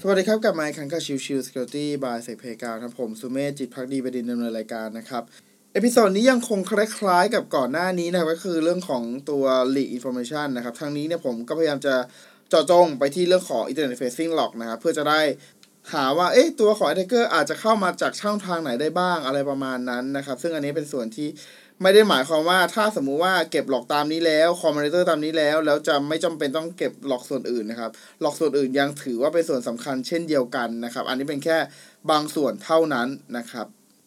สวัสดีครับกลับมาอีกครั้งกับชิว Security by Sec Playground ครับผมสุเมธจิตภักดีบดินทร์ดำเนินรายการนะครับเอพิโซดนี้ยังคงคล้ายๆกับก่อนหน้านี้นะครับก็คือเรื่องของตัว Leak Information นะครับทางนี้เนี่ยผมก็พยายามจะเจาะจงไปที่เรื่องของ Internet Facing Log นะครับเพื่อจะได้หาว่าตัวของ Attacker อาจจะเข้ามาจากช่องทางไหนได้บ้างอะไรประมาณนั้นนะครับซึ่งอันนี้เป็นส่วนที่ไม่ได้หมายความว่าถ้าสมมุติว่าเก็บหลอกตามนี้แล้วคอมมอนเตอร์ตามนี้แล้วจะไม่จำเป็นต้องเก็บหลอกส่วนอื่นนะครับหลอกส่วนอื่นยังถือว่าเป็นส่วนสำคัญเช่นเดียวกันนะครับอันนี้เป็นแค่บางส่วนเท่านั้นนะครับ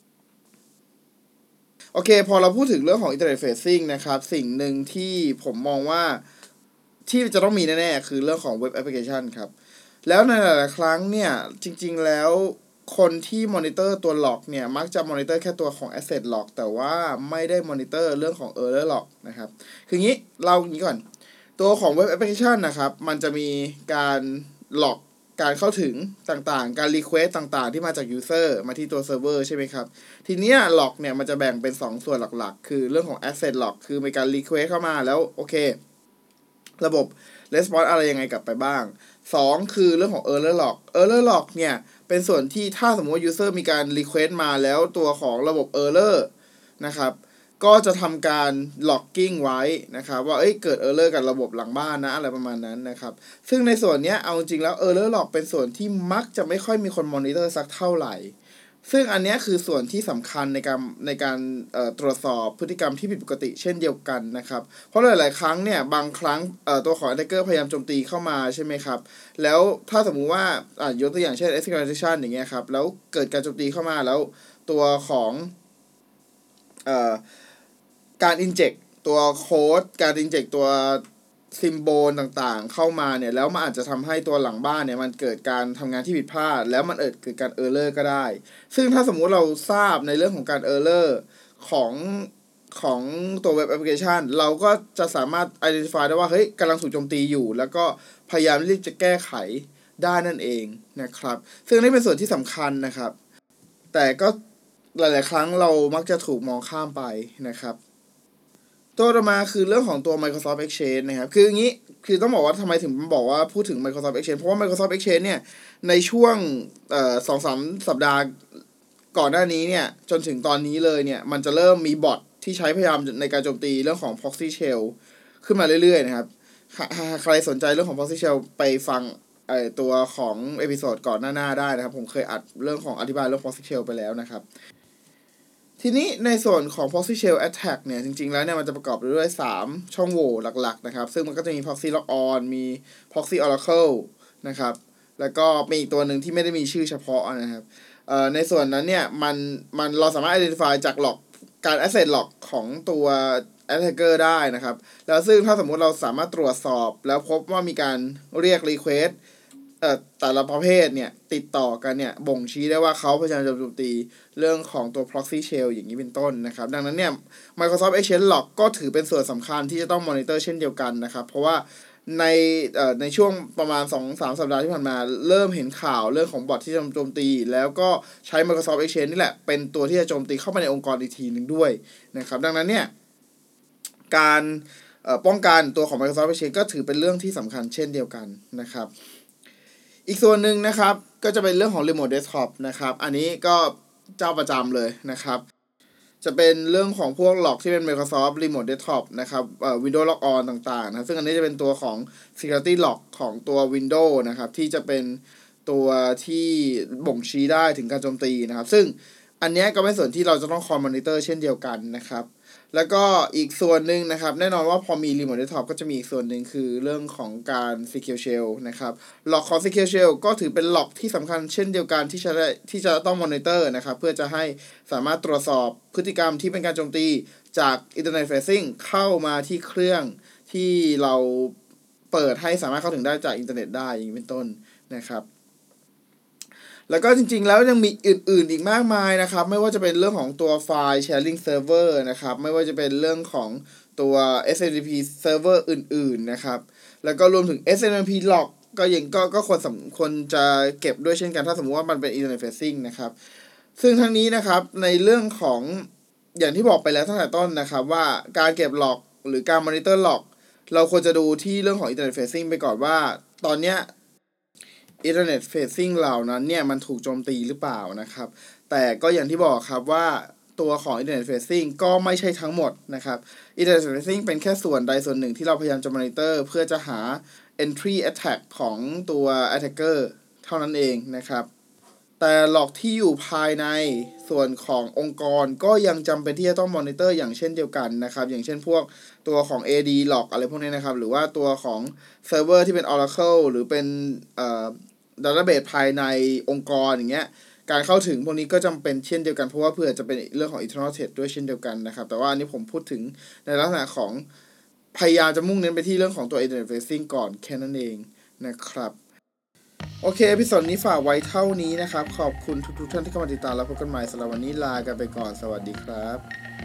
โอเคพอเราพูดถึงเรื่องของ Internet Facing นะครับสิ่งหนึ่งที่ผมมองว่าที่จะต้องมีแน่ๆคือเรื่องของ Web Application ครับแล้วในหลายๆครั้งเนี่ยจริงๆแล้วคนที่มอนิเตอร์ตัว log เนี่ยมักจะมอนิเตอร์แค่ตัวของ asset log แต่ว่าไม่ได้มอนิเตอร์เรื่องของ error log นะครับคืองี้เราอย่างนี้ก่อนตัวของ web application นะครับมันจะมีการ log การเข้าถึงต่างๆการ request ต่างๆที่มาจาก user มาที่ตัว server ใช่ไหมครับทีนี้ log เนี่ยมันจะแบ่งเป็น2ส่วนหลักๆคือเรื่องของ asset log คือมีการ request เข้ามาแล้วโอเคระบบ response อะไรยังไงกลับไปบ้าง2คือเรื่องของ error log เนี่ยเป็นส่วนที่ถ้าสมมติว่า user มีการ request มาแล้วตัวของระบบ error นะครับก็จะทำการ logging ไว้นะครับว่าเกิด error กับระบบหลังบ้านนะอะไรประมาณนั้นนะครับซึ่งในส่วนนี้เอาจริงแล้ว error log เป็นส่วนที่มักจะไม่ค่อยมีคน monitor สักเท่าไหร่ซึ่งอันนี้คือส่วนที่สำคัญในการตรวจสอบพฤติกรรมที่ผิดปกติเช่นเดียวกันนะครับเพราะหลายๆครั้งเนี่ยบางครั้งตัวของ attacker พยายามโจมตีเข้ามาใช่ไหมครับแล้วถ้าสมมุติว่ายกตัวอย่างเช่น escalation อย่างเงี้ยครับแล้วเกิดการโจมตีเข้ามาแล้วตัวของการ inject ตัวโค้ดการ inject ตัวซิมโบลต่างๆเข้ามาเนี่ยแล้วมันอาจจะทำให้ตัวหลังบ้านเนี่ยมันเกิดการทำงานที่ผิดพลาดแล้วมันเกิดการเออร์เลอร์ก็ได้ซึ่งถ้าสมมุติเราทราบในเรื่องของการเออร์เลอร์ของตัวเว็บแอปพลิเคชันเราก็จะสามารถ identify ได้ว่าเฮ้ยกำลังถูกโจมตีอยู่แล้วก็พยายามรีบจะแก้ไขได้นั่นเองนะครับซึ่งนี่เป็นส่วนที่สำคัญนะครับแต่ก็หลายๆครั้งเรามักจะถูกมองข้ามไปนะครับตัวต่อมาคือเรื่องของตัว Microsoft Exchange นะครับคืออย่างนี้คือต้องบอกว่าทำไมถึงบอกว่าพูดถึง Microsoft Exchange เพราะว่า Microsoft Exchange เนี่ยในช่วง2-3 สัปดาห์ก่อนหน้านี้เนี่ยจนถึงตอนนี้เลยเนี่ยมันจะเริ่มมีบอทที่ใช้พยายามในการโจมตีเรื่องของ Proxy Shell ขึ้นมาเรื่อยๆนะครับใครสนใจเรื่องของ Proxy Shell ไปฟังตัวของเอพิโซดก่อนหน้าได้นะครับผมเคยอัดเรื่องของอธิบายเรื่อง Proxy Shell ไปแล้วนะครับทีนี้ในส่วนของ Proxy Shell Attack เนี่ยจริงๆแล้วเนี่ยมันจะประกอบด้วย3ช่องโหว่หลักๆนะครับซึ่งมันก็จะมี Proxy Logon มี Proxy Oracle นะครับแล้วก็มีอีกตัวหนึ่งที่ไม่ได้มีชื่อเฉพาะนะครับในส่วนนั้นเนี่ยมันเราสามารถ identify จากlog การ asset log ของตัว attacker ได้นะครับแล้วซึ่งถ้าสมมุติเราสามารถตรวจสอบแล้วพบว่ามีการเรียก requestแต่ละประเภทเนี่ยติดต่อกันเนี่ยบ่งชี้ได้ว่าเขาพยายามจะโจมตีเรื่องของตัว proxy shell อย่างนี้เป็นต้นนะครับดังนั้นเนี่ย Microsoft Exchange Log ก็ถือเป็นส่วนสำคัญที่จะต้องมอนิเตอร์เช่นเดียวกันนะครับเพราะว่าในช่วงประมาณ 2-3 สัปดาห์ที่ผ่านมาเริ่มเห็นข่าวเรื่องของบอทที่จะโจมตีแล้วก็ใช้ Microsoft Exchange นี่แหละเป็นตัวที่จะโจมตีเข้ามาในองค์กรอีกทีนึงด้วยนะครับดังนั้นเนี่ยการป้องกันตัวของ Microsoft Exchange ก็ถือเป็นเรื่องที่สำคัญเช่นเดียวกันนะครับอีกส่วนหนึ่งนะครับก็จะเป็นเรื่องของ Remote Desktop นะครับอันนี้ก็เจ้าประจำเลยนะครับจะเป็นเรื่องของพวก log ที่เป็น Microsoft Remote Desktop นะครับWindows Logon ต่างๆนะซึ่งอันนี้จะเป็นตัวของ Security Log ของตัว Windows นะครับที่จะเป็นตัวที่บ่งชี้ได้ถึงการโจมตีนะครับซึ่งอันนี้ก็เป็นส่วนที่เราจะต้องคอยมอนิเตอร์เช่นเดียวกันนะครับแล้วก็อีกส่วนหนึ่งนะครับแน่นอนว่าพอมี Remote Desktop ก็จะมีอีกส่วนหนึ่งคือเรื่องของการ Secure Shell นะครับ log ของ Secure Shell ก็ถือเป็น log ที่สำคัญเช่นเดียวกันที่จะต้องมอนิเตอร์นะครับเพื่อจะให้สามารถตรวจสอบพฤติกรรมที่เป็นการโจมตีจาก Internet Facing เข้ามาที่เครื่องที่เราเปิดให้สามารถเข้าถึงได้จากอินเทอร์เน็ตได้อย่างนี้เป็นต้นนะครับแล้วก็จริงๆแล้วยังมีอื่นๆอีกมากมายนะครับไม่ว่าจะเป็นเรื่องของตัวไฟล์ sharing server นะครับไม่ว่าจะเป็นเรื่องของตัว SMTP server อื่นๆนะครับแล้วก็รวมถึง SMTP log ก็ควรจะเก็บด้วยเช่นกันถ้าสมมติว่ามันเป็น Internet Facing นะครับซึ่งทั้งนี้นะครับในเรื่องของอย่างที่บอกไปแล้วตั้งแต่ต้นนะครับว่าการเก็บ log หรือการ monitor log เราควรจะดูที่เรื่องของ Internet Facing ไปก่อนว่าตอนเนี้ย Internet Facing เหล่านั้นเนี่ยมันถูกโจมตีหรือเปล่านะครับแต่ก็อย่างที่บอกครับว่าตัวของ Internet Facing ก็ไม่ใช่ทั้งหมดนะครับ Internet Facing เป็นแค่ส่วนใดส่วนหนึ่งที่เราพยายามจะ monitor เพื่อจะหา entry attack ของตัว attacker เท่านั้นเองนะครับแต่หลอกที่อยู่ภายในส่วนขององค์กรก็ยังจำเป็นที่จะต้องมอนิเตอร์อย่างเช่นเดียวกันนะครับอย่างเช่นพวกตัวของ AD หลอกอะไรพวกนี้นะครับหรือว่าตัวของเซิร์ฟเวอร์ที่เป็น Oracle หรือเป็นdatabase ภายในองค์กรอย่างเงี้ยการเข้าถึงพวกนี้ก็จำเป็นเช่นเดียวกันเพราะว่าเพื่อจะเป็นเรื่องของ internal threat ด้วยเช่นเดียวกันนะครับแต่ว่าอันนี้ผมพูดถึงในลักษณะของพยายามจะมุ่งเน้นไปที่เรื่องของตัว internet facing ก่อนแค่นั้นเองนะครับโอเคเอพิโซดนี้ฝากไว้เท่านี้นะครับขอบคุณทุกท่านที่เข้ามาติดตามแล้วพบกันใหม่สำหรับวันนี้ลากันไปก่อนสวัสดีครับ